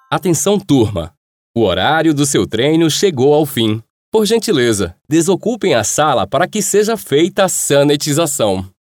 Atenção, turma! O horário do seu treino chegou ao fim. Por gentileza, desocupem a sala para que seja feita a sanitização.